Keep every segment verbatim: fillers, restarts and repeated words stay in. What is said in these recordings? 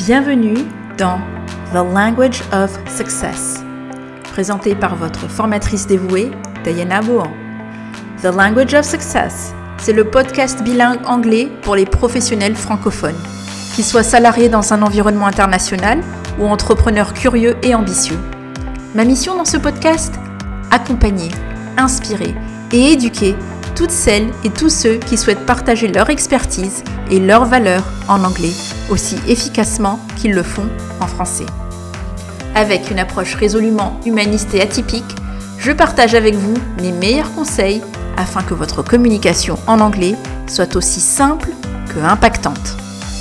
Bienvenue dans The Language of Success, présenté par votre formatrice dévouée, Diana Bohan. The Language of Success, c'est le podcast bilingue anglais pour les professionnels francophones, qu'ils soient salariés dans un environnement international ou entrepreneurs curieux et ambitieux. Ma mission dans ce podcast ? Accompagner, inspirer et éduquer toutes celles et tous ceux qui souhaitent partager leur expertise et leurs valeurs en anglais aussi efficacement qu'ils le font en français. Avec une approche résolument humaniste et atypique, je partage avec vous mes meilleurs conseils afin que votre communication en anglais soit aussi simple que impactante.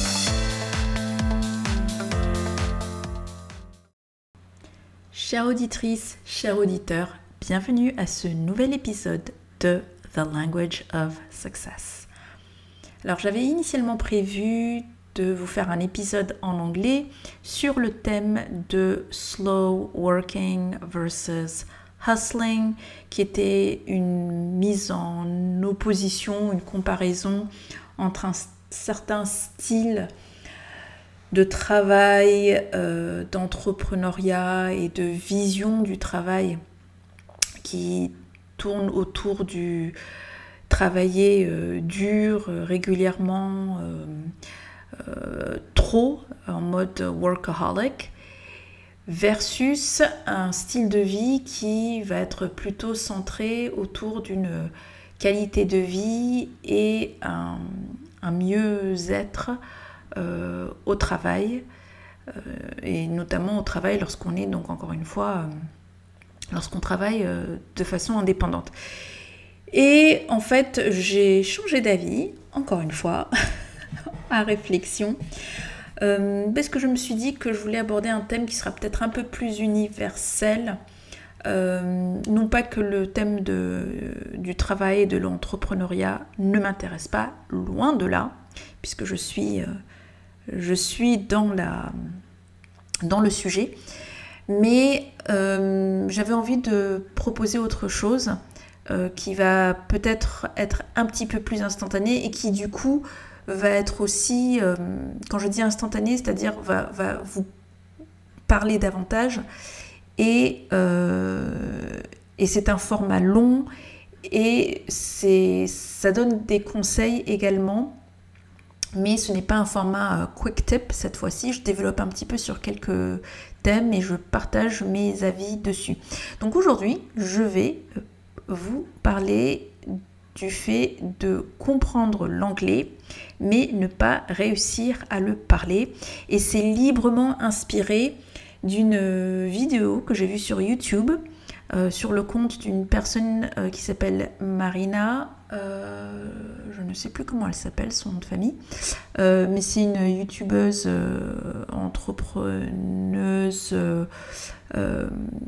Chère auditrice, chers auditeurs, bienvenue à ce nouvel épisode de The Language of Success. Alors j'avais initialement prévu de vous faire un épisode en anglais sur le thème de slow working versus hustling, qui était une mise en opposition, une comparaison entre un certain style de travail, euh, d'entrepreneuriat et de vision du travail qui tourne autour du travailler euh, dur, euh, régulièrement, euh, euh, trop, en mode workaholic, versus un style de vie qui va être plutôt centré autour d'une qualité de vie et un, un mieux-être euh, au travail, euh, et notamment au travail lorsqu'on est, donc encore une fois, euh, lorsqu'on travaille euh, de façon indépendante. Et en fait, j'ai changé d'avis, encore une fois, à réflexion, euh, parce que je me suis dit que je voulais aborder un thème qui sera peut-être un peu plus universel. Euh, non pas que le thème de, du travail et de l'entrepreneuriat ne m'intéresse pas, loin de là, puisque je suis, euh, je suis dans, la, dans le sujet. Mais euh, j'avais envie de proposer autre chose euh, qui va peut-être être un petit peu plus instantané et qui du coup va être aussi, euh, quand je dis instantané, c'est-à-dire va, va vous parler davantage et, euh, et c'est un format long et c'est, ça donne des conseils également. Mais ce n'est pas un format euh, quick tip cette fois-ci, je développe un petit peu sur quelques thèmes et je partage mes avis dessus. Donc aujourd'hui, je vais vous parler du fait de comprendre l'anglais, mais ne pas réussir à le parler. Et c'est librement inspiré d'une vidéo que j'ai vue sur YouTube, euh, sur le compte d'une personne euh, qui s'appelle Marina. Euh, je ne sais plus comment elle s'appelle, son nom de famille, euh, mais c'est une youtubeuse, euh, entrepreneuse euh, euh,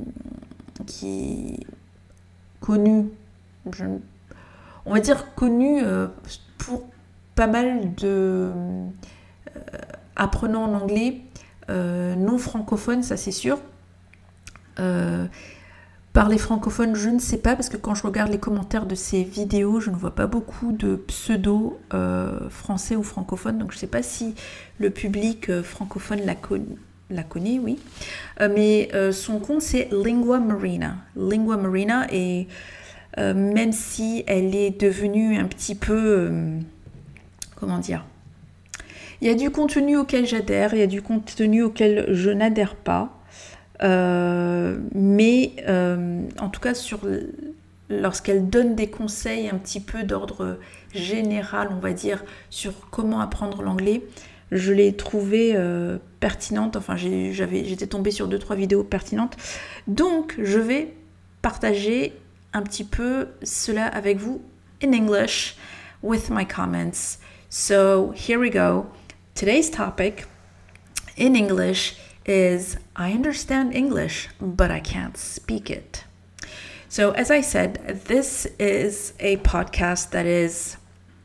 qui est connue, je, on va dire connue euh, pour pas mal de euh, apprenants en anglais euh, non francophones, ça c'est sûr. Euh, Par les francophones, je ne sais pas, parce que quand je regarde les commentaires de ces vidéos, je ne vois pas beaucoup de pseudo euh, français ou francophones, donc je ne sais pas si le public euh, francophone la, con- la connaît, oui. Euh, mais euh, son compte, c'est Lingua Marina. Lingua Marina, et euh, même si elle est devenue un petit peu... Euh, comment dire ? Il y a du contenu auquel j'adhère, il y a du contenu auquel je n'adhère pas. Euh, mais euh, en tout cas sur, lorsqu'elle donne des conseils un petit peu d'ordre général, on va dire, sur comment apprendre l'anglais, je l'ai trouvée euh, pertinente. Enfin j'ai, j'avais, j'étais tombée sur deux trois vidéos pertinentes, donc je vais partager un petit peu cela avec vous in English with my comments. So here we go. Today's topic in English is I understand English, but I can't speak it. So as I said, this is a podcast that is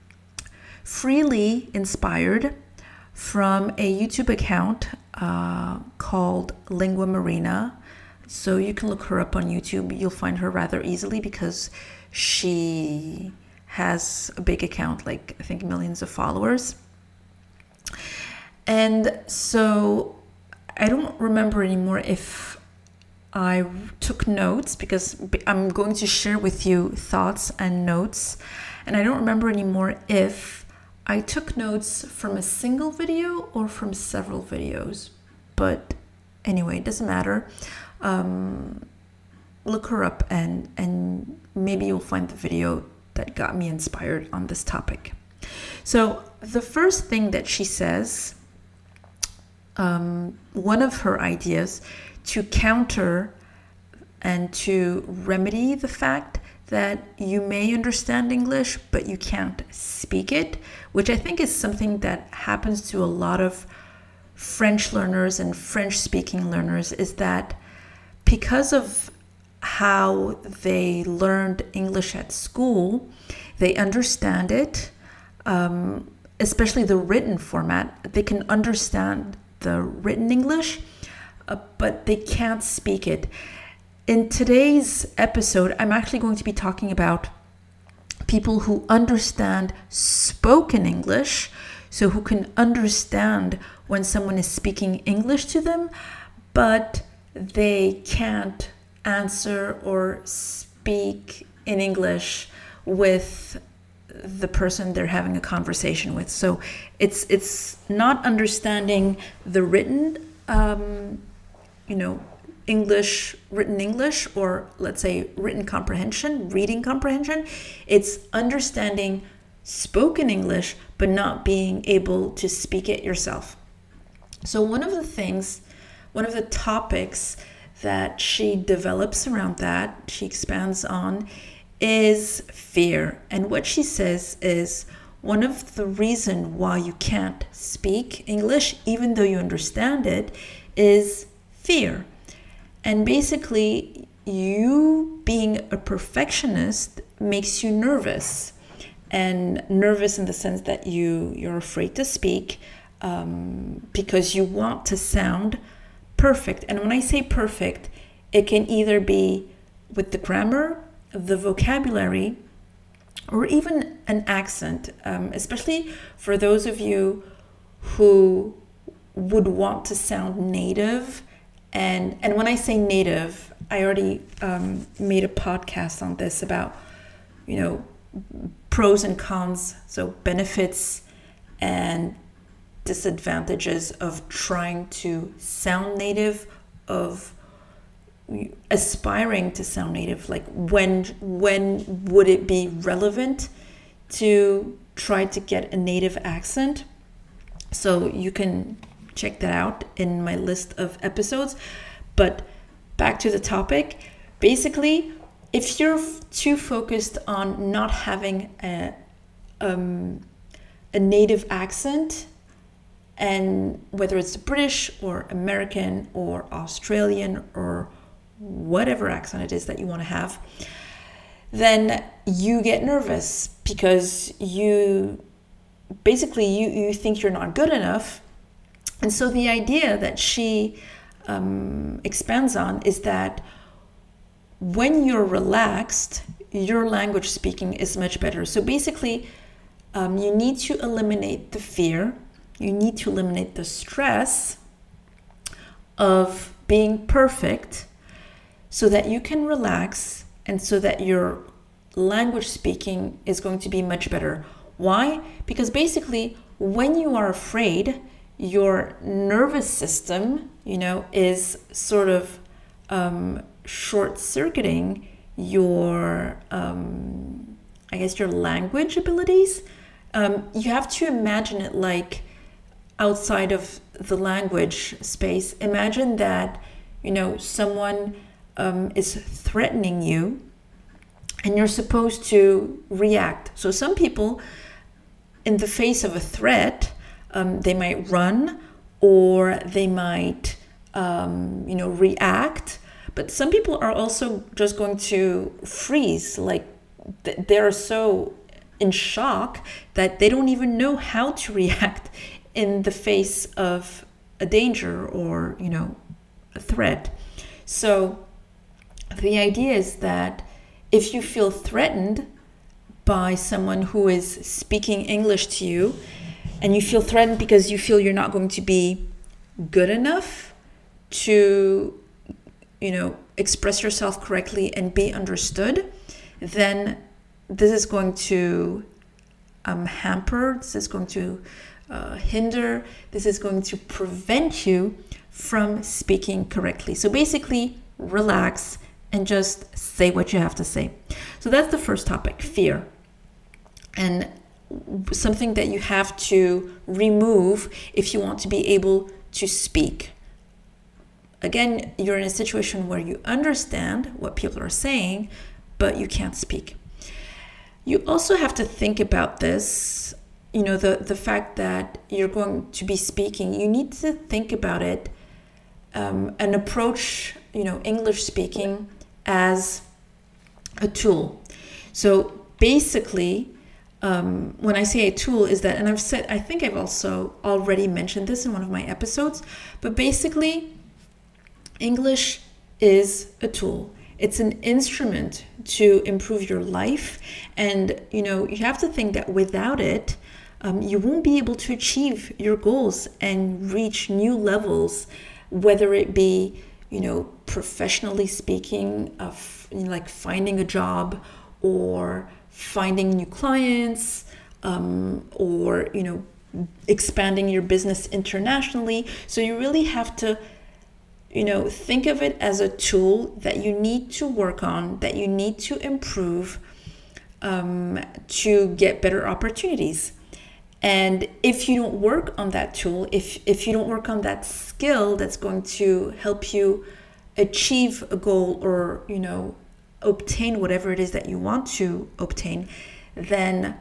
freely inspired from a YouTube account uh, called Lingua Marina. So you can look her up on YouTube. You'll find her rather easily because she has a big account, like I think millions of followers. And so I don't remember anymore if I took notes, because I'm going to share with you thoughts and notes. And I don't remember anymore if I took notes from a single video or from several videos. But anyway, it doesn't matter. Um, look her up and, and maybe you'll find the video that got me inspired on this topic. So the first thing that she says, um, one of her ideas to counter and to remedy the fact that you may understand English, but you can't speak it, which I think is something that happens to a lot of French learners and French-speaking learners, is that because of how they learned English at school, they understand it, um, especially the written format. They can understand the written English, uh, but they can't speak it. In today's episode, I'm actually going to be talking about people who understand spoken English, so who can understand when someone is speaking English to them, but they can't answer or speak in English with the person they're having a conversation with. So it's it's not understanding the written, um, you know, English, written English, or let's say written comprehension, reading comprehension. It's understanding spoken English, but not being able to speak it yourself. So one of the things, one of the topics that she develops around that, she expands on, is fear. And what she says is one of the reasons why you can't speak English, even though you understand it, is fear. And basically, you being a perfectionist makes you nervous. And nervous in the sense that you, you're afraid to speak um, because you want to sound perfect. And when I say perfect, it can either be with the grammar, the vocabulary, or even an accent, um, especially for those of you who would want to sound native. And, and when I say native, I already um, made a podcast on this about, you know, pros and cons, so benefits and disadvantages of trying to sound native, of aspiring to sound native. Like when when would it be relevant to try to get a native accent? So you can check that out in my list of episodes. But back to the topic. Basically, if you're f- too focused on not having a, um, a native accent, and whether it's British or American or Australian or whatever accent it is that you want to have, then you get nervous because you basically you, you think you're not good enough. And so the idea that she um, expands on is that when you're relaxed, your language speaking is much better. So basically, um, you need to eliminate the fear, you need to eliminate the stress of being perfect so that you can relax and so that your language speaking is going to be much better. Why? Because basically, when you are afraid, your nervous system, you know, is sort of um, short-circuiting your, um, I guess, your language abilities. Um, you have to imagine it like outside of the language space. Imagine that, you know, someone um, is threatening you and you're supposed to react. So some people, in the face of a threat, um, they might run or they might, um, you know, react. But some people are also just going to freeze, like th- they're so in shock that they don't even know how to react in the face of a danger or, you know, a threat. So the idea is that if you feel threatened by someone who is speaking English to you, and you feel threatened because you feel you're not going to be good enough to, you know, express yourself correctly and be understood, then this is going to um, hamper, this is going to uh, hinder, this is going to prevent you from speaking correctly. So basically, relax and just say what you have to say. So that's the first topic, fear. And something that you have to remove if you want to be able to speak. Again, you're in a situation where you understand what people are saying, but you can't speak. You also have to think about this, you know, the, the fact that you're going to be speaking. You need to think about it um, and approach, you know, English speaking as a tool. So basically, um, when I say a tool is that, and I've said, I think I've also already mentioned this in one of my episodes, but basically, English is a tool. It's an instrument to improve your life. And, you know, you have to think that without it, um, you won't be able to achieve your goals and reach new levels, whether it be, you know, professionally speaking, of you know, like finding a job or finding new clients, um, or, you know, expanding your business internationally. So you really have to, you know, think of it as a tool that you need to work on, that you need to improve um, to get better opportunities. And if you don't work on that tool, if if you don't work on that skill that's going to help you achieve a goal or, you know, obtain whatever it is that you want to obtain, then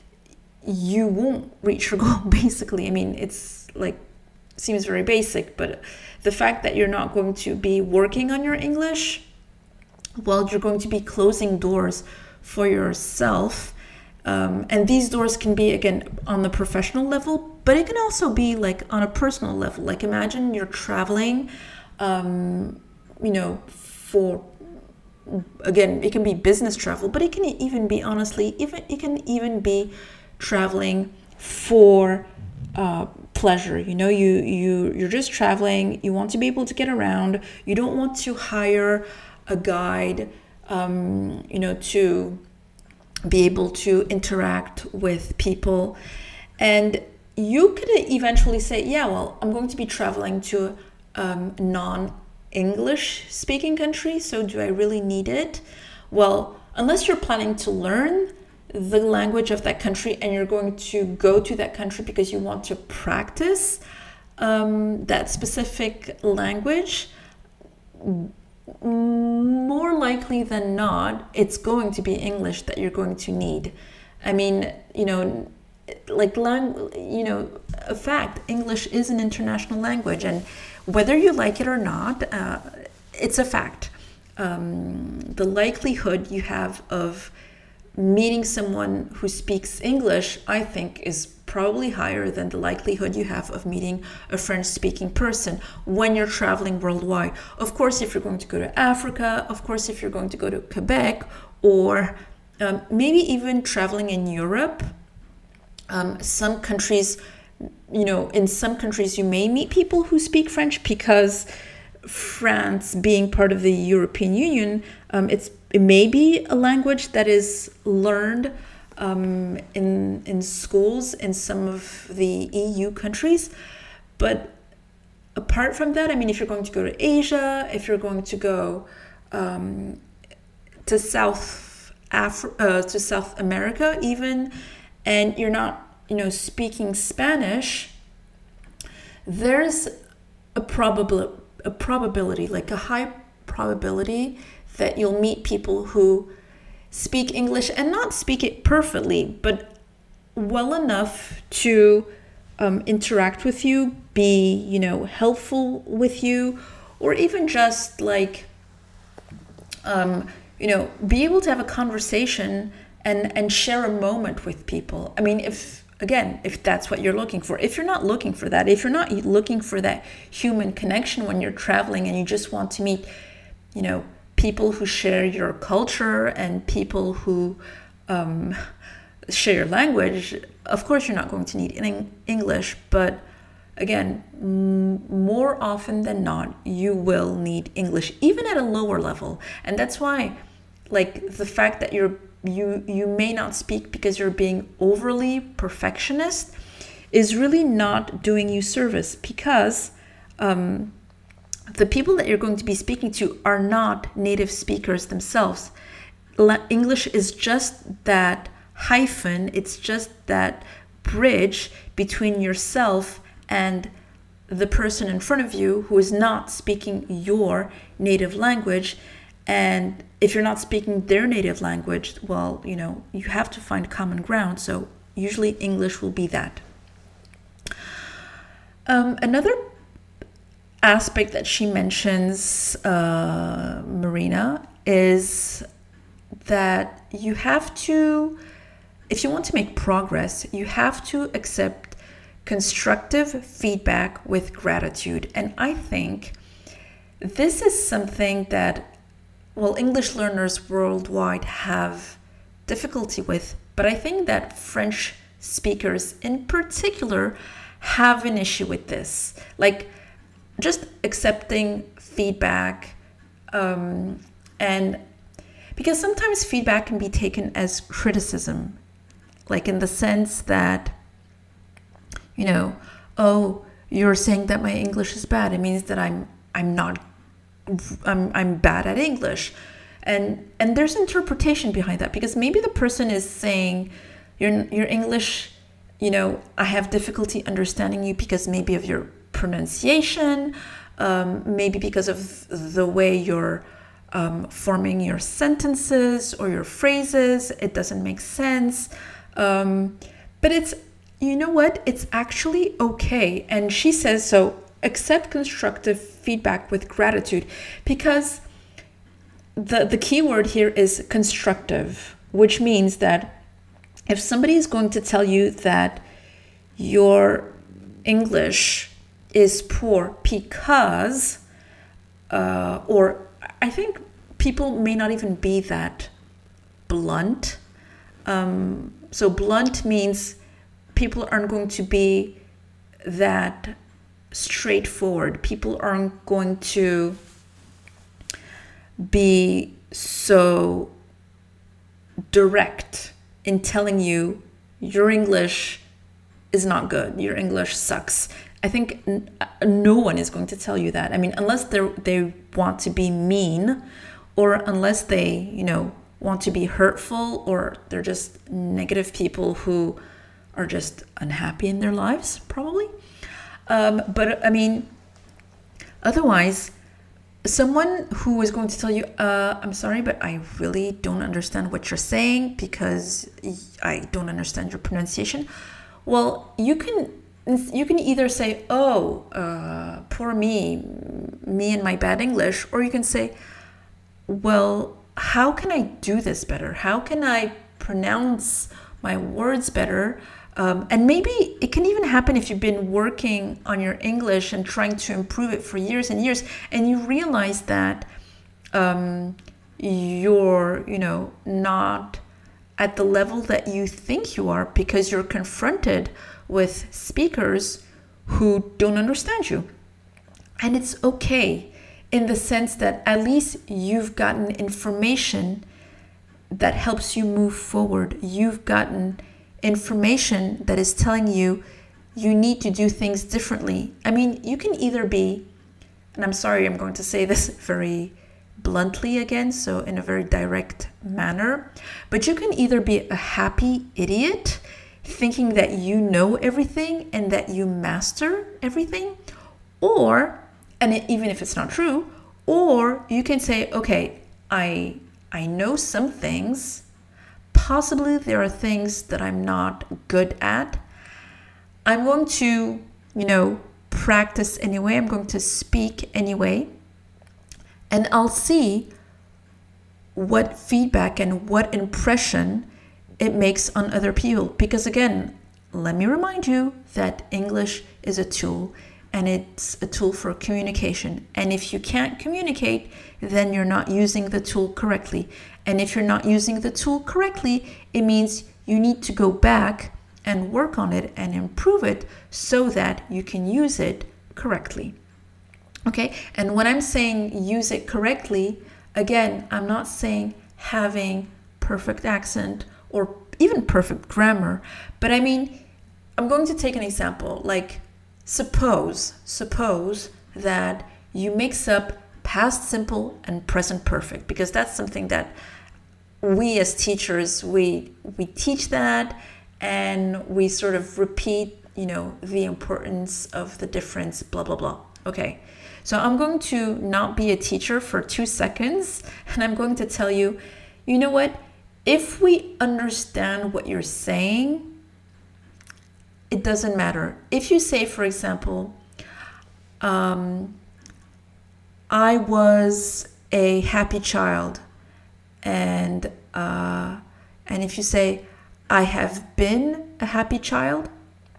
you won't reach your goal, basically. I mean, it's like, seems very basic, but the fact that you're not going to be working on your English, well, you're going to be closing doors for yourself. Um, and these doors can be, again, on the professional level, but it can also be like on a personal level. Like imagine you're traveling, um, you know, for, again, it can be business travel, but it can even be, honestly, even it can even be traveling for uh, pleasure. You know, you, you, you're just traveling, you want to be able to get around, you don't want to hire a guide, um, you know, to be able to interact with people. And you could eventually say, yeah, well, I'm going to be traveling to a um, non-English speaking country, so do I really need it? Well, unless you're planning to learn the language of that country and you're going to go to that country because you want to practice um, that specific language, more likely than not, it's going to be English that you're going to need. I mean, you know, like, lang- you know, a fact, English is an international language, and whether you like it or not, uh, it's a fact. Um, the likelihood you have of meeting someone who speaks English, I think, is probably higher than the likelihood you have of meeting a French-speaking person when you're traveling worldwide. Of course, if you're going to go to Africa, of course, if you're going to go to Quebec, or um, maybe even traveling in Europe, um, some countries, you know, in some countries you may meet people who speak French because France, being part of the European Union, um, it's it may be a language that is learned um, in in schools in some of the E U countries. But apart from that, I mean, if you're going to go to Asia, if you're going to go um, to South Afri- uh, to South America, even, and you're not, you know, speaking Spanish, there's a probable a probability, like a high probability, that you'll meet people who speak English and not speak it perfectly, but well enough to um, interact with you, be, you know, helpful with you, or even just like, um, you know, be able to have a conversation and, and share a moment with people. I mean, if, again, if that's what you're looking for. If you're not looking for that, if you're not looking for that human connection when you're traveling and you just want to meet, you know, people who share your culture and people who um, share your language, of course you're not going to need in English, but again, m- more often than not, you will need English, even at a lower level. And that's why, like, the fact that you're you you may not speak because you're being overly perfectionist is really not doing you service, because um, the people that you're going to be speaking to are not native speakers themselves. La- English is just that hyphen, it's just that bridge between yourself and the person in front of you who is not speaking your native language. And if you're not speaking their native language, well, you know, you have to find common ground. So usually English will be that. Um, another aspect that she mentions, uh, Marina, is that you have to, if you want to make progress, you have to accept constructive feedback with gratitude. And I think this is something that, well, English learners worldwide have difficulty with, but I think that French speakers in particular have an issue with this. Like, just accepting feedback, um, and because sometimes feedback can be taken as criticism, like in the sense that, you know, oh, you're saying that my English is bad. It means that I'm I'm not I'm I'm bad at English. And and there's interpretation behind that, because maybe the person is saying your your English, you know, I have difficulty understanding you because maybe of your pronunciation, um, maybe because of the way you're um, forming your sentences or your phrases. It doesn't make sense. Um, but it's, you know what? It's actually okay. And she says, so accept constructive feedback with gratitude, because the, the key word here is constructive, which means that if somebody is going to tell you that your English is poor because, uh, or I think people may not even be that blunt. Um, so blunt means people aren't going to be that straightforward. People aren't going to be so direct in telling you your English is not good, your English sucks. I think n- no one is going to tell you that. I mean, unless they they want to be mean, or unless they, you know, want to be hurtful, or they're just negative people who are just unhappy in their lives, probably. Um, but I mean, otherwise, someone who is going to tell you, uh, I'm sorry, but I really don't understand what you're saying because I don't understand your pronunciation. Well, you can you can either say, oh, uh, poor me, me and my bad English, or you can say, well, how can I do this better? How can I pronounce my words better? Um, and maybe it can even happen if you've been working on your English and trying to improve it for years and years, and you realize that um, you're, you know, not at the level that you think you are because you're confronted with speakers who don't understand you. And it's okay, in the sense that at least you've gotten information that helps you move forward. You've gotten information that is telling you you need to do things differently. I mean, you can either be, and I'm sorry, I'm going to say this very bluntly again, so in a very direct manner, but you can either be a happy idiot thinking that you know everything and that you master everything, or, and it, even if it's not true, or you can say, okay, I I know some things. Possibly there are things that I'm not good at. I'm going to, you know, practice anyway. I'm going to speak anyway. And I'll see what feedback and what impression it makes on other people. Because again, let me remind you that English is a tool, and it's a tool for communication. And if you can't communicate, then you're not using the tool correctly. And if you're not using the tool correctly, it means you need to go back and work on it and improve it so that you can use it correctly. Okay, and when I'm saying use it correctly, again, I'm not saying having perfect accent or even perfect grammar, but I mean, I'm going to take an example. Like, suppose, suppose that you mix up past simple and present perfect, because that's something that we as teachers, we we teach that, and we sort of repeat, you know, the importance of the difference, blah, blah, blah. Okay, so I'm going to not be a teacher for two seconds, and I'm going to tell you, you know what? If we understand what you're saying, it doesn't matter. If you say, for example, um, I was a happy child, and uh, and if you say, I have been a happy child,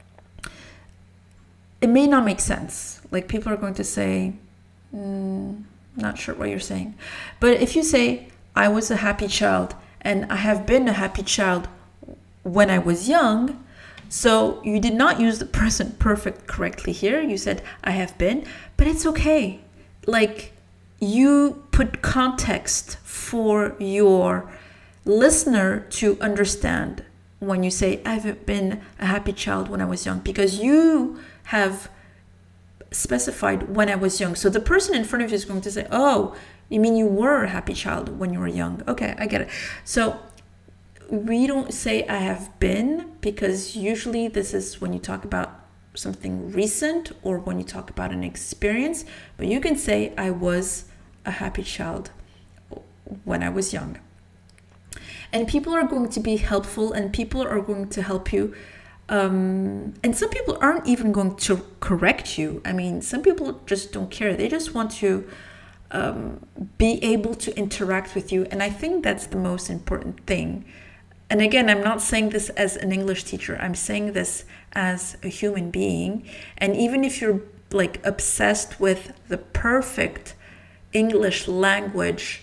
it may not make sense. Like, people are going to say, mm, not sure what you're saying. But if you say, I was a happy child, and I have been a happy child when I was young, so you did not use the present perfect correctly here. You said, I have been, but it's okay. Like, you put context for your listener to understand when you say, I've been a happy child when I was young, because you have specified when I was young. So the person in front of you is going to say, oh, you mean you were a happy child when you were young? Okay, I get it. So we don't say I have been, because usually this is when you talk about something recent or when you talk about an experience, but you can say I was a happy child when I was young. And people are going to be helpful, and people are going to help you. Um, and some people aren't even going to correct you. I mean, some people just don't care. They just want to um, be able to interact with you. And I think that's the most important thing. And again, I'm not saying this as an English teacher. I'm saying this as a human being. And even if you're like obsessed with the perfect English language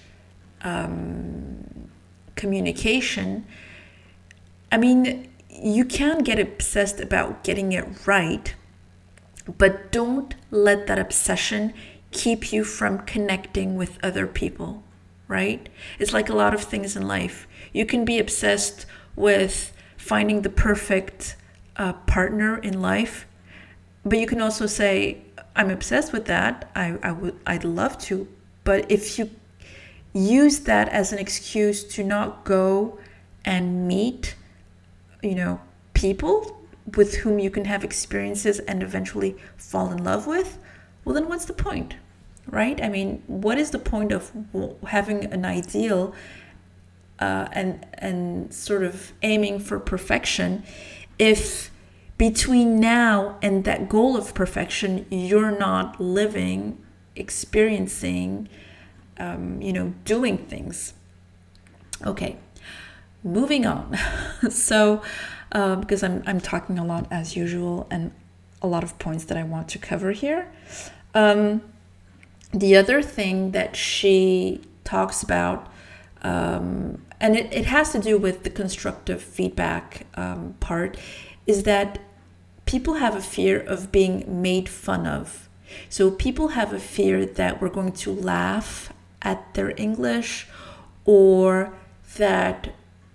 um, communication, I mean, you can get obsessed about getting it right, but don't let that obsession keep you from connecting with other people, right? It's like a lot of things in life. You can be obsessed with finding the perfect uh, partner in life, but you can also say, I'm obsessed with that. I, I would, I'd love to. But if you use that as an excuse to not go and meet, you know, people with whom you can have experiences and eventually fall in love with, well, then what's the point, right? I mean, what is the point of having an ideal uh, and and sort of aiming for perfection if between now and that goal of perfection, you're not living, experiencing, um, you know, doing things? Okay. Moving on. so, uh, because I'm I'm talking a lot as usual, and a lot of points that I want to cover here. Um, the other thing that she talks about, um, and it, it has to do with the constructive feedback um, part, is that people have a fear of being made fun of. So people have a fear that we're going to laugh at their English, or that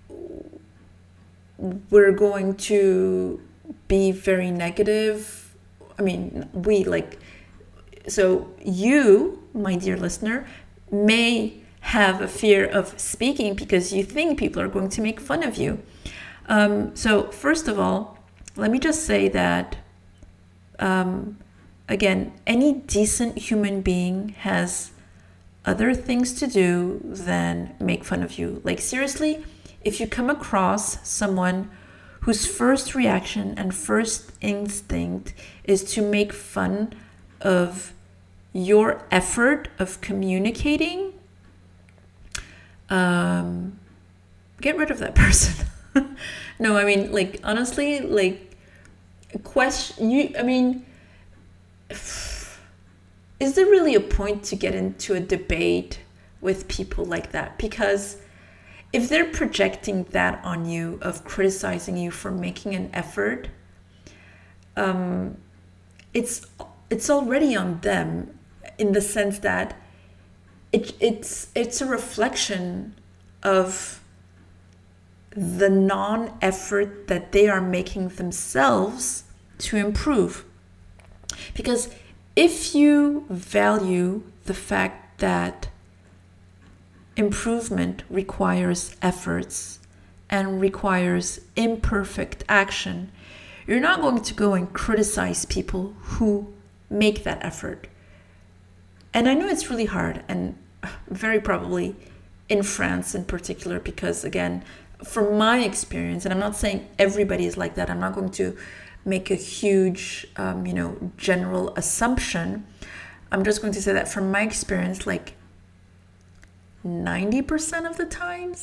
we're going to be very negative. I mean, we like, so you, my dear listener, may have a fear of speaking because you think people are going to make fun of you. Um, so first of all, let me just say that, um, again, any decent human being has other things to do than make fun of you. Like, seriously, if you come across someone whose first reaction and first instinct is to make fun of your effort of communicating, um, get rid of that person. No, I mean, like, honestly, like, question, you, I mean, is there really a point to get into a debate with people like that? Because if they're projecting that on you, of criticizing you for making an effort, um, it's it's already on them, in the sense that it it's it's a reflection of the non-effort that they are making themselves to improve. Because if you value the fact that improvement requires efforts and requires imperfect action, you're not going to go and criticize people who make that effort. And I know it's really hard, and very probably in France in particular, because again, from my experience, and I'm not saying everybody is like that, I'm not going to make a huge, um, you know, general assumption. I'm just going to say that from my experience, like ninety percent of the times,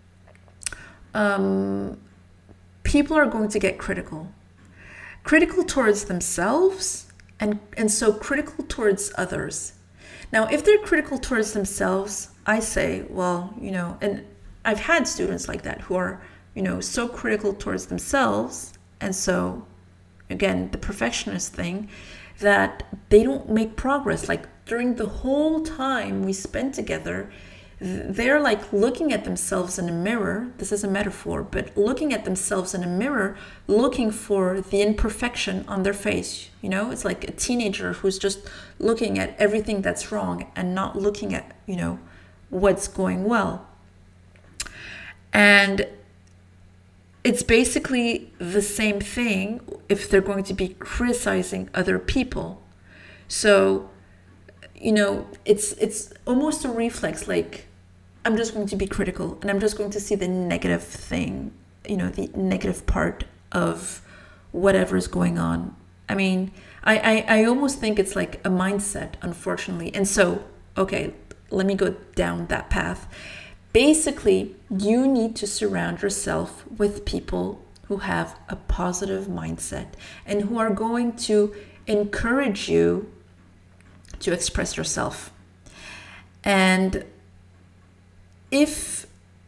um, people are going to get critical. Critical towards themselves, and, and so critical towards others. Now, if they're critical towards themselves, I say, well, you know, and I've had students like that who are, you know, so critical towards themselves, and so, again, the perfectionist thing, that they don't make progress. Like during the whole time we spend together, they're like looking at themselves in a mirror. This is a metaphor, but looking at themselves in a mirror, looking for the imperfection on their face. You know, it's like a teenager who's just looking at everything that's wrong and not looking at, you know, what's going well. And it's basically the same thing if they're going to be criticizing other people. So, you know, it's it's almost a reflex, like, I'm just going to be critical and I'm just going to see the negative thing, you know, the negative part of whatever's going on. I mean, I, I, I almost think it's like a mindset, unfortunately. And so, okay, let me go down that path. Basically, you need to surround yourself with people who have a positive mindset and who are going to encourage you to express yourself. And if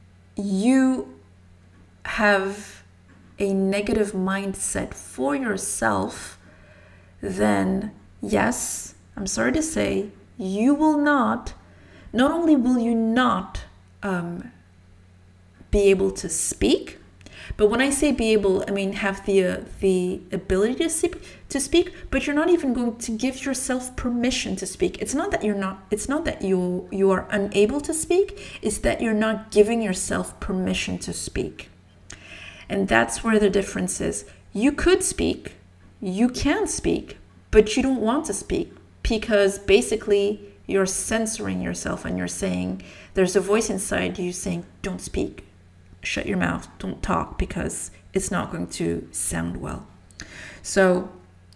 you have a negative mindset for yourself, then yes, I'm sorry to say, you will not, not only will you not um, be able to speak, but when I say be able, I mean have the uh, the ability to speak, to speak, but you're not even going to give yourself permission to speak. It's not that you're not. It's not that you you are unable to speak. It's that you're not giving yourself permission to speak, and that's where the difference is. You could speak, you can speak, but you don't want to speak because basically you're censoring yourself and you're saying there's a voice inside you saying, "Don't speak. Shut your mouth, don't talk, because it's not going to sound well." So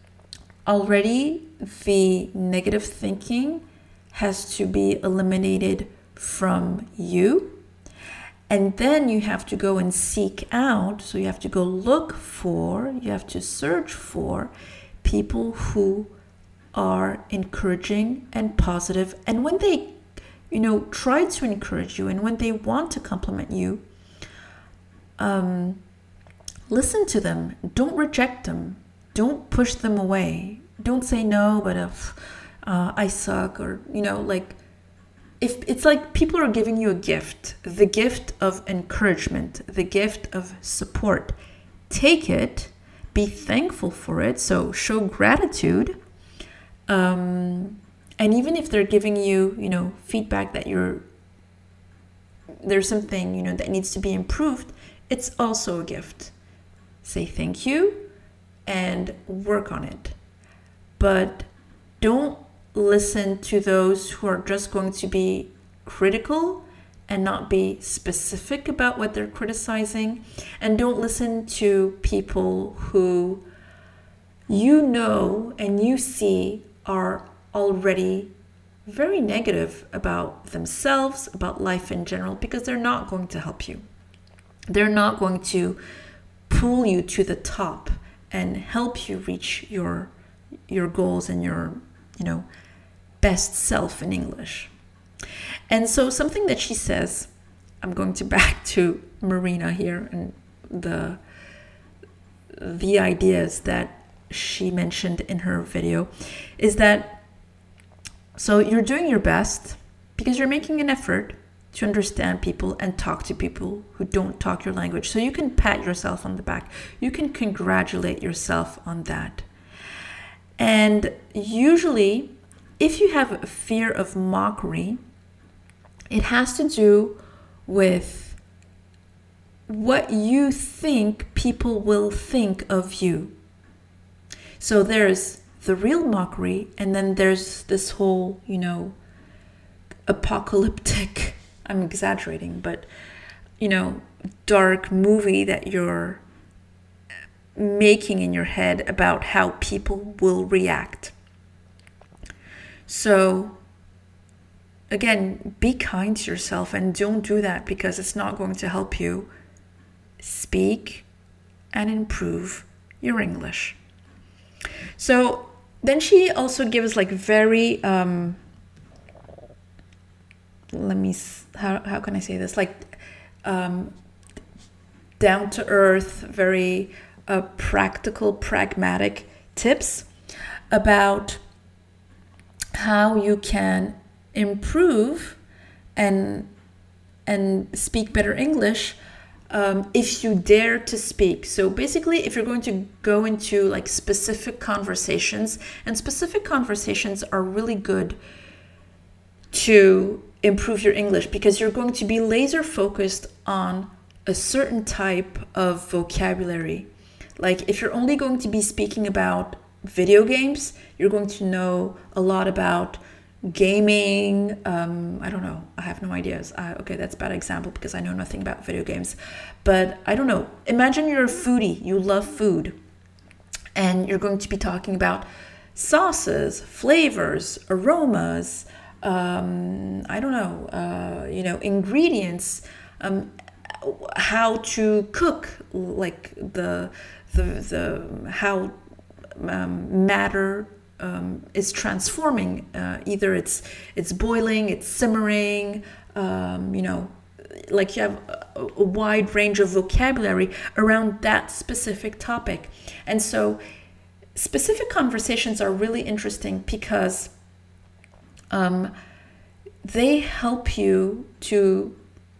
already the negative thinking has to be eliminated from you. And then you have to go and seek out, so you have to go look for, you have to search for people who are encouraging and positive. And when they, you know, try to encourage you and when they want to compliment you, Um, listen to them. Don't reject them. Don't push them away. Don't say no, but if uh, I suck, or, you know, like, if it's like people are giving you a gift, the gift of encouragement, the gift of support. Take it, be thankful for it. So show gratitude. Um, and even if they're giving you, you know, feedback that you're, there's something, you know, that needs to be improved, it's also a gift. Say thank you and work on it. But don't listen to those who are just going to be critical and not be specific about what they're criticizing. And don't listen to people who you know and you see are already very negative about themselves, about life in general, because they're not going to help you. They're not going to pull you to the top and help you reach your your goals and your, you know, best self in English. And so something that she says I'm going to back to Marina here and the the ideas that she mentioned in her video is that, so you're doing your best because you're making an effort to understand people and talk to people who don't talk your language. So you can pat yourself on the back. You can congratulate yourself on that. And usually, if you have a fear of mockery, it has to do with what you think people will think of you. So there's the real mockery, and then there's this whole, you know, apocalyptic, I'm exaggerating, but, you know, dark movie that you're making in your head about how people will react. So again, be kind to yourself and don't do that because it's not going to help you speak and improve your English. So then she also gives like very, um, let me, how, how can I say this? Like um, down to earth, very uh, practical, pragmatic tips about how you can improve and and speak better English um, if you dare to speak. So basically, if you're going to go into like specific conversations, and specific conversations are really good to improve your English because you're going to be laser focused on a certain type of vocabulary. Like if you're only going to be speaking about video games, you're going to know a lot about gaming. Um, I don't know. I have no ideas. Uh, okay, that's a bad example because I know nothing about video games. But I don't know. Imagine you're a foodie. You love food. And you're going to be talking about sauces, flavors, aromas, um, I don't know, uh, you know, ingredients, um, how to cook, like the, the, the, how um, matter Um, is transforming. Uh, either it's it's boiling, it's simmering. Um, you know, like you have a, a wide range of vocabulary around that specific topic, and so specific conversations are really interesting because um, they help you to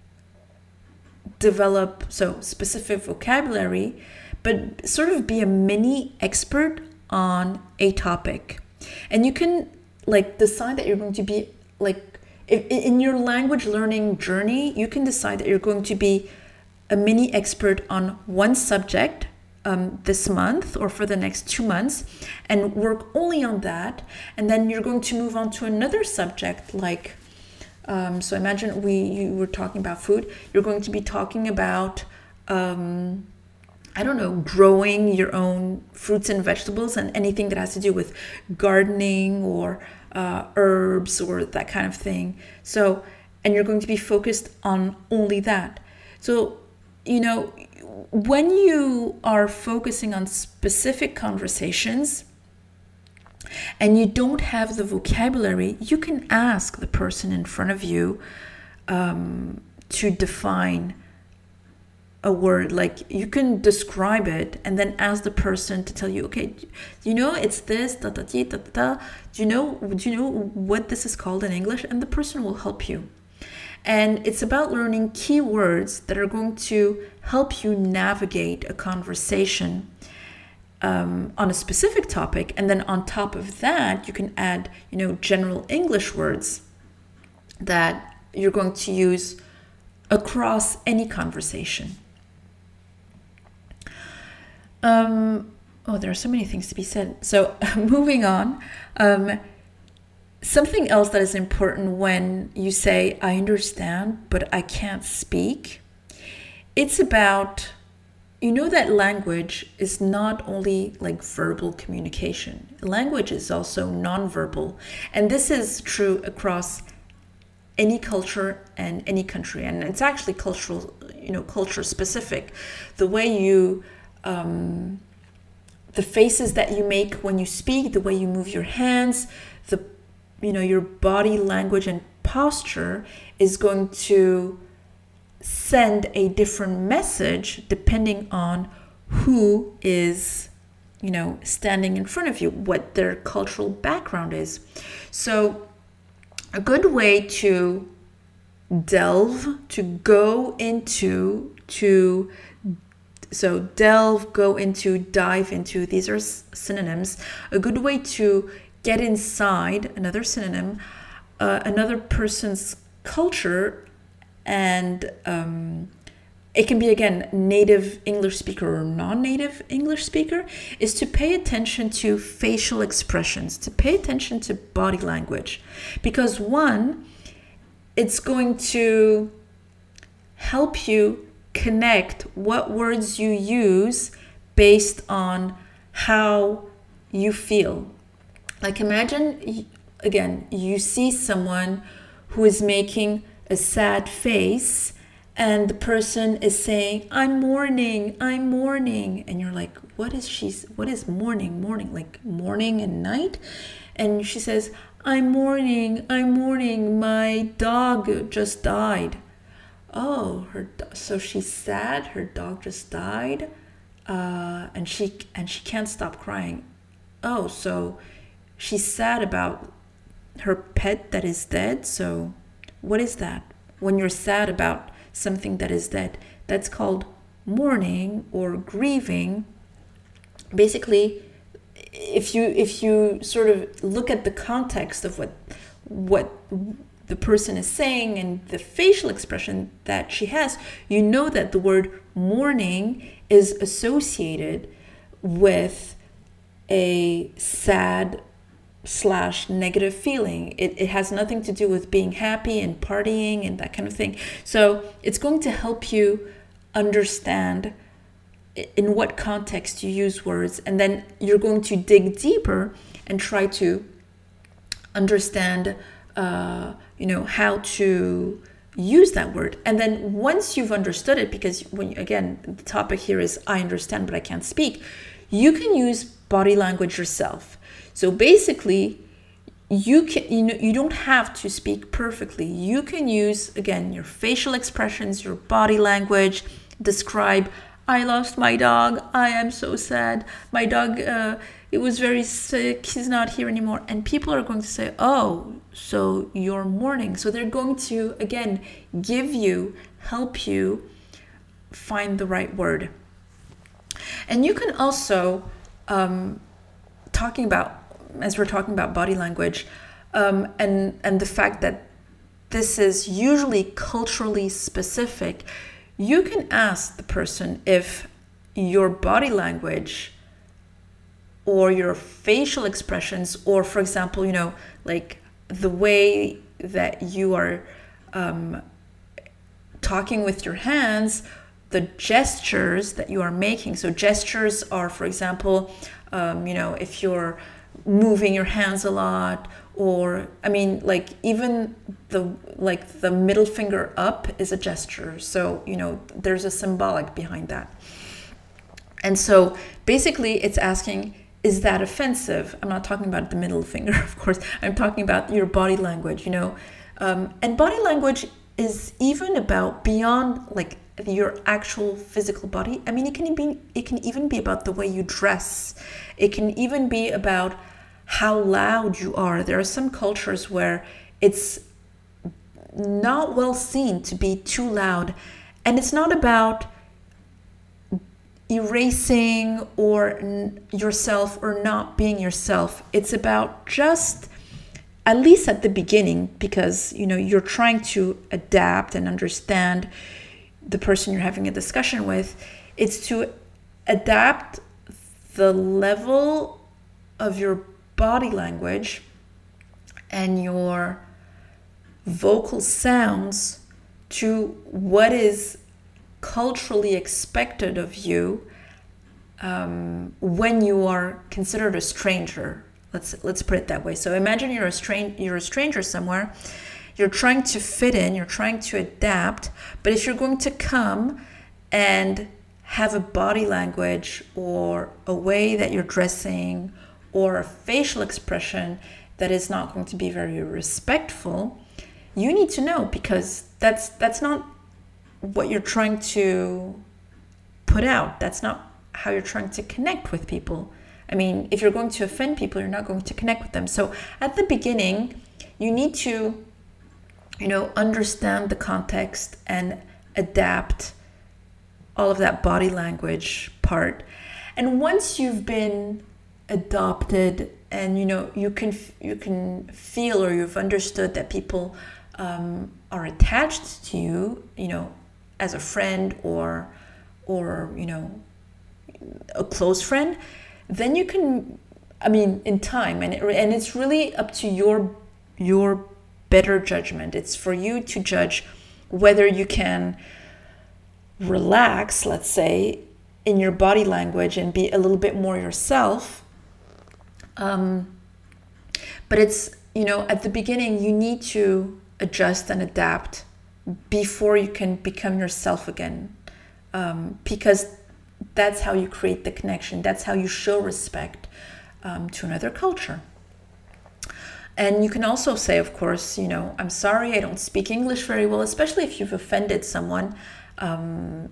develop so specific vocabulary, but sort of be a mini expert on a topic. And you can like decide that you're going to be like if, in your language learning journey, you can decide that you're going to be a mini expert on one subject um, this month or for the next two months and work only on that. And then you're going to move on to another subject like um, so imagine we you were talking about food. You're going to be talking about um, I don't know, growing your own fruits and vegetables and anything that has to do with gardening or uh, herbs or that kind of thing. So, and you're going to be focused on only that. So, you know, when you are focusing on specific conversations and you don't have the vocabulary, you can ask the person in front of you um, to define a word. Like you can describe it and then ask the person to tell you, okay, do you know it's this, da da da da da. Do you know? Do you know what this is called in English? And the person will help you. And it's about learning keywords that are going to help you navigate a conversation um, on a specific topic. And then on top of that, you can add, you know, general English words that you're going to use across any conversation. Um, oh, there are so many things to be said. So moving on, um, something else that is important when you say, I understand, but I can't speak. It's about, you know, that language is not only like verbal communication. Language is also nonverbal. And this is true across any culture and any country. And it's actually cultural, you know, culture specific. The way you, um, the faces that you make when you speak, the way you move your hands, the, you know, your body language and posture is going to send a different message depending on who is, you know, standing in front of you, what their cultural background is. So a good way to delve, to go into, to so delve, go into, dive into, these are synonyms. A good way to get inside, another synonym, uh, another person's culture, and um, it can be, again, native English speaker or non-native English speaker, is to pay attention to facial expressions, to pay attention to body language. Because one, it's going to help you connect what words you use based on how you feel. Like imagine, again, you see someone who is making a sad face and the person is saying, I'm mourning, I'm mourning. And you're like, what is she, what is mourning, mourning, like morning and night? And she says, I'm mourning, I'm mourning, my dog just died. Oh, her so she's sad, her dog just died, uh, and she and she can't stop crying. Oh, so she's sad about her pet that is dead. So what is that? When you're sad about something that is dead, that's called mourning or grieving. Basically, if you if you sort of look at the context of what what the person is saying and the facial expression that she has, you know that the word mourning is associated with a sad slash negative feeling. It, it has nothing to do with being happy and partying and that kind of thing. So it's going to help you understand in what context you use words, and then you're going to dig deeper and try to understand uh, you know, how to use that word. And then once you've understood it, because when again, the topic here is I understand, but I can't speak, you can use body language yourself. So basically, you can, you know, you don't have to speak perfectly. You can use, again, your facial expressions, your body language, describe, I lost my dog, I am so sad, my dog, uh, it was very sick, he's not here anymore. And people are going to say, oh, so you're mourning. So they're going to, again, give you, help you find the right word. And you can also, um, talking about, as we're talking about body language, um, and, and the fact that this is usually culturally specific, you can ask the person if your body language or your facial expressions, or for example, you know, like the way that you are um, talking with your hands, the gestures that you are making. So gestures are, for example, um, you know, if you're moving your hands a lot, or I mean, like even the like the middle finger up is a gesture. So, you know, there's a symbolic behind that. And so basically it's asking, is that offensive? I'm not talking about the middle finger, of course. I'm talking about your body language, you know. Um, and body language is even about beyond like your actual physical body. I mean, it can be, it can even be about the way you dress. It can even be about how loud you are. There are some cultures where it's not well seen to be too loud. And it's not about erasing or n- yourself or not being yourself. It's about just, at least at the beginning, because, you know, you're trying to adapt and understand the person you're having a discussion with, it's to adapt the level of your body language and your vocal sounds to what is culturally expected of you um, when you are considered a stranger. Let's let's put it that way. So imagine you're a stran- you're a stranger somewhere. You're trying to fit in. You're trying to adapt. But if you're going to come and have a body language or a way that you're dressing or a facial expression that is not going to be very respectful, you need to know, because that's that's not what you're trying to put out. That's not how you're trying to connect with people. I mean, if you're going to offend people, you're not going to connect with them. So at the beginning, you need to, you know, understand the context and adapt all of that body language part. And once you've been adopted and, you know, you can you can feel or you've understood that people um, are attached to you, you know, as a friend or, or, you know, a close friend, then you can, I mean, in time, and it, and it's really up to your your better judgment. It's for you to judge whether you can relax, let's say, in your body language and be a little bit more yourself. Um, but it's, you know, at the beginning, you need to adjust and adapt before you can become yourself again, um, because that's how you create the connection. That's how you show respect um, to another culture. And you can also say, of course, you know, I'm sorry, I don't speak English very well, especially if you've offended someone. Um,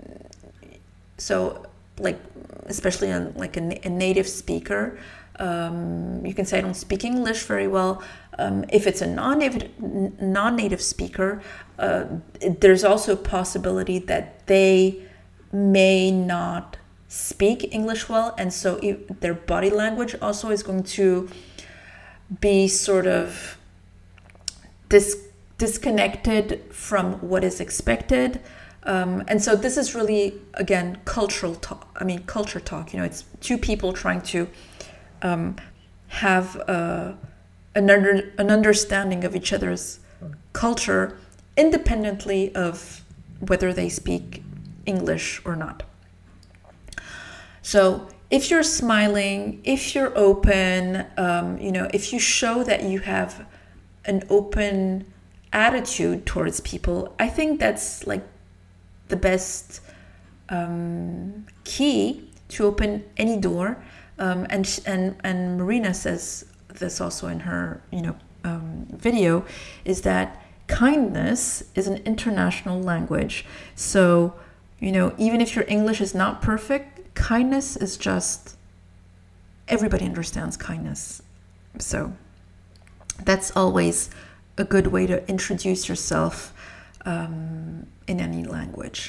so, like, especially a, like a, a native speaker, um, you can say, I don't speak English very well. Um, if it's a non-native, non-native speaker, uh, there's also a possibility that they may not speak English well, and so it, their body language also is going to be sort of dis- disconnected from what is expected. Um, and so this is really, again, cultural talk. I mean, culture talk. You know, it's two people trying to um, have uh, an, under, an understanding of each other's culture independently of whether they speak English or not. So if you're smiling, if you're open, um, you know, if you show that you have an open attitude towards people, I think that's like the best um, key to open any door. Um, and and and Marina says this also in her, you know, um, video, is that kindness is an international language. So, you know, even if your English is not perfect, kindness is just, everybody understands kindness. So that's always a good way to introduce yourself um, in any language.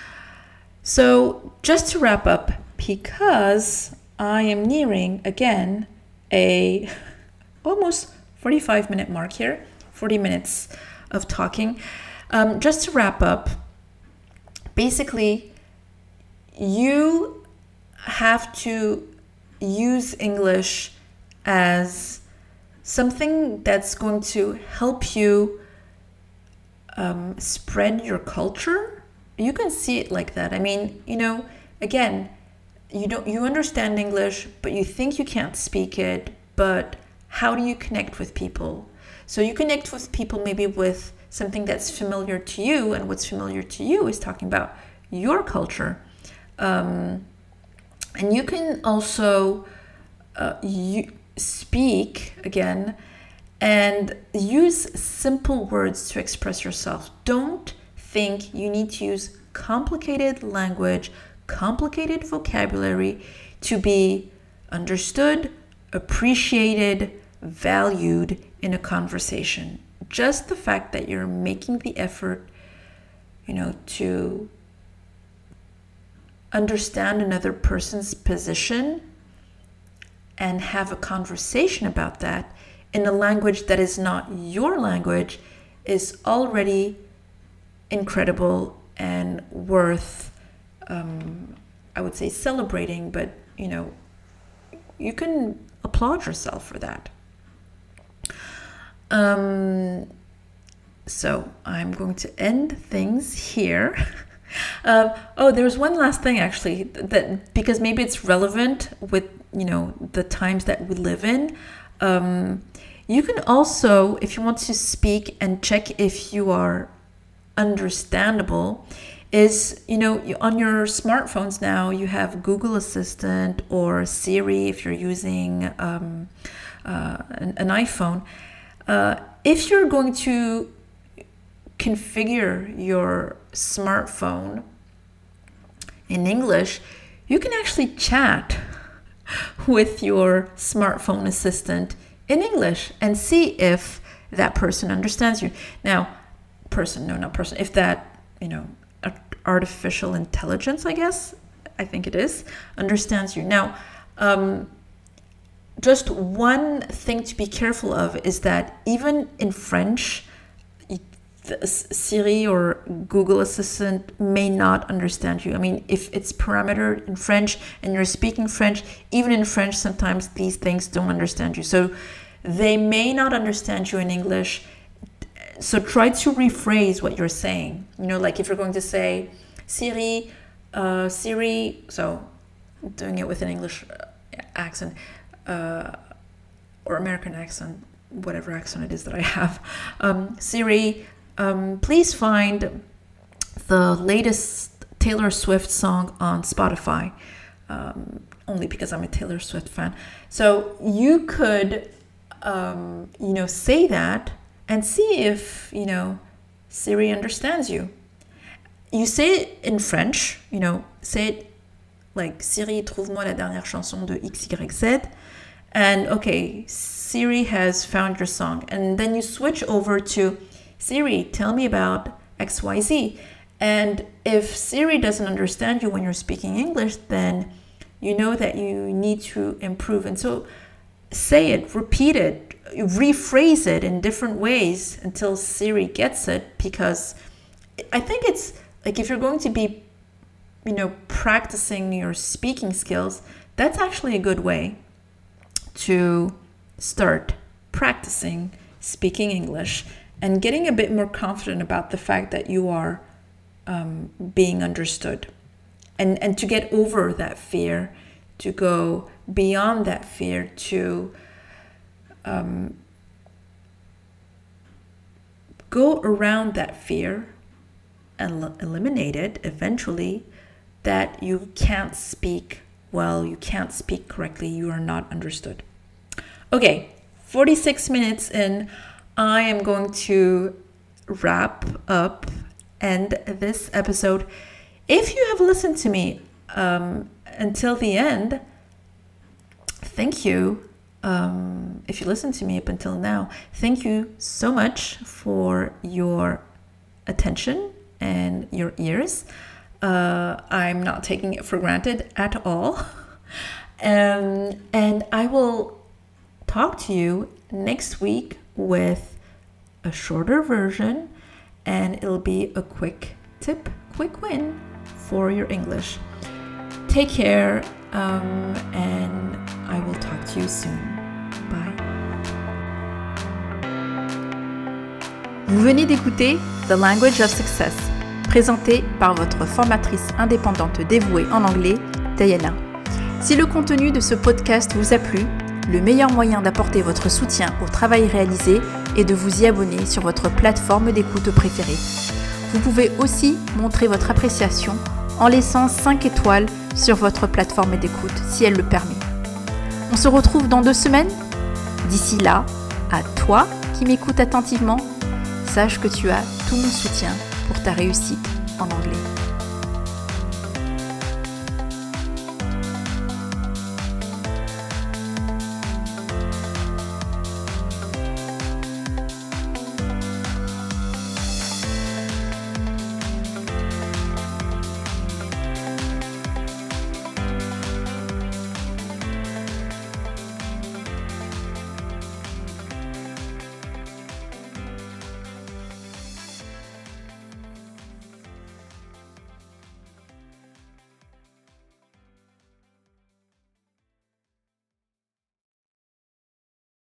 So just to wrap up, because I am nearing, again, a almost forty-five minute mark here, forty minutes of talking. Um, just to wrap up, basically, you have to use English as something that's going to help you um, spread your culture. You can see it like that. I mean, you know, again, you don't you understand English, but you think you can't speak it. But how do you connect with people? So you connect with people maybe with something that's familiar to you, and what's familiar to you is talking about your culture. Um, and you can also uh, you speak again and use simple words to express yourself. Don't think you need to use complicated language, complicated vocabulary to be understood, appreciated, valued in a conversation. Just the fact that you're making the effort, you know, to understand another person's position and have a conversation about that in a language that is not your language is already incredible and worth, um, I would say, celebrating, but, you know, you can applaud yourself for that. Um, so I'm going to end things here. um, oh, there's one last thing actually that, because maybe it's relevant with, you know, the times that we live in. Um, you can also, if you want to speak and check if you are understandable, is, you know, on your smartphones now you have Google Assistant or Siri if you're using um, uh, an, an iPhone. Uh, if you're going to configure your smartphone in English, you can actually chat with your smartphone assistant in English and see if that person understands you. Now, person, no, not person, if that, you know, artificial intelligence, I guess, I think it is, understands you. Now, um, just one thing to be careful of is that even in French, Siri or Google Assistant may not understand you. I mean, if it's parametered in French and you're speaking French, even in French, sometimes these things don't understand you. So they may not understand you in English. So try to rephrase what you're saying. You know, like if you're going to say, Siri, uh, Siri, so doing it with an English accent uh, or American accent, whatever accent it is that I have. Um, Siri, um, please find the latest Taylor Swift song on Spotify. Um, only because I'm a Taylor Swift fan. So you could, um, you know, say that and see if, you know, Siri understands you. You say it in French, you know, say it like, Siri, trouve-moi la dernière chanson de X Y Z. And okay, Siri has found your song. And then you switch over to, Siri, tell me about X Y Z. And if Siri doesn't understand you when you're speaking English, then you know that you need to improve. And so say it, repeat it, rephrase it in different ways until Siri gets it, because I think it's like if you're going to be, you know, practicing your speaking skills, that's actually a good way to start practicing speaking English and getting a bit more confident about the fact that you are um, being understood. And, and to get over that fear, to go beyond that fear, to um, go around that fear and l- eliminate it eventually, that you can't speak well, you can't speak correctly, you are not understood. Okay, forty-six minutes in, I am going to wrap up, end this episode. If you have listened to me um, until the end, thank you. Um, if you listened to me up until now, thank you so much for your attention and your ears. Uh, I'm not taking it for granted at all. Um, and I will talk to you next week with a shorter version, and it'll be a quick tip, quick win for your English. Take care, um, and I will talk to you soon. Bye. Vous venez d'écouter The Language of Success, présenté par votre formatrice indépendante dévouée en anglais, Diana. Si le contenu de ce podcast vous a plu, le meilleur moyen d'apporter votre soutien au travail réalisé est de vous y abonner sur votre plateforme d'écoute préférée. Vous pouvez aussi montrer votre appréciation en laissant cinq étoiles sur votre plateforme d'écoute si elle le permet. On se retrouve dans deux semaines. D'ici là, à toi qui m'écoutes attentivement, sache que tu as tout mon soutien pour ta réussite en anglais.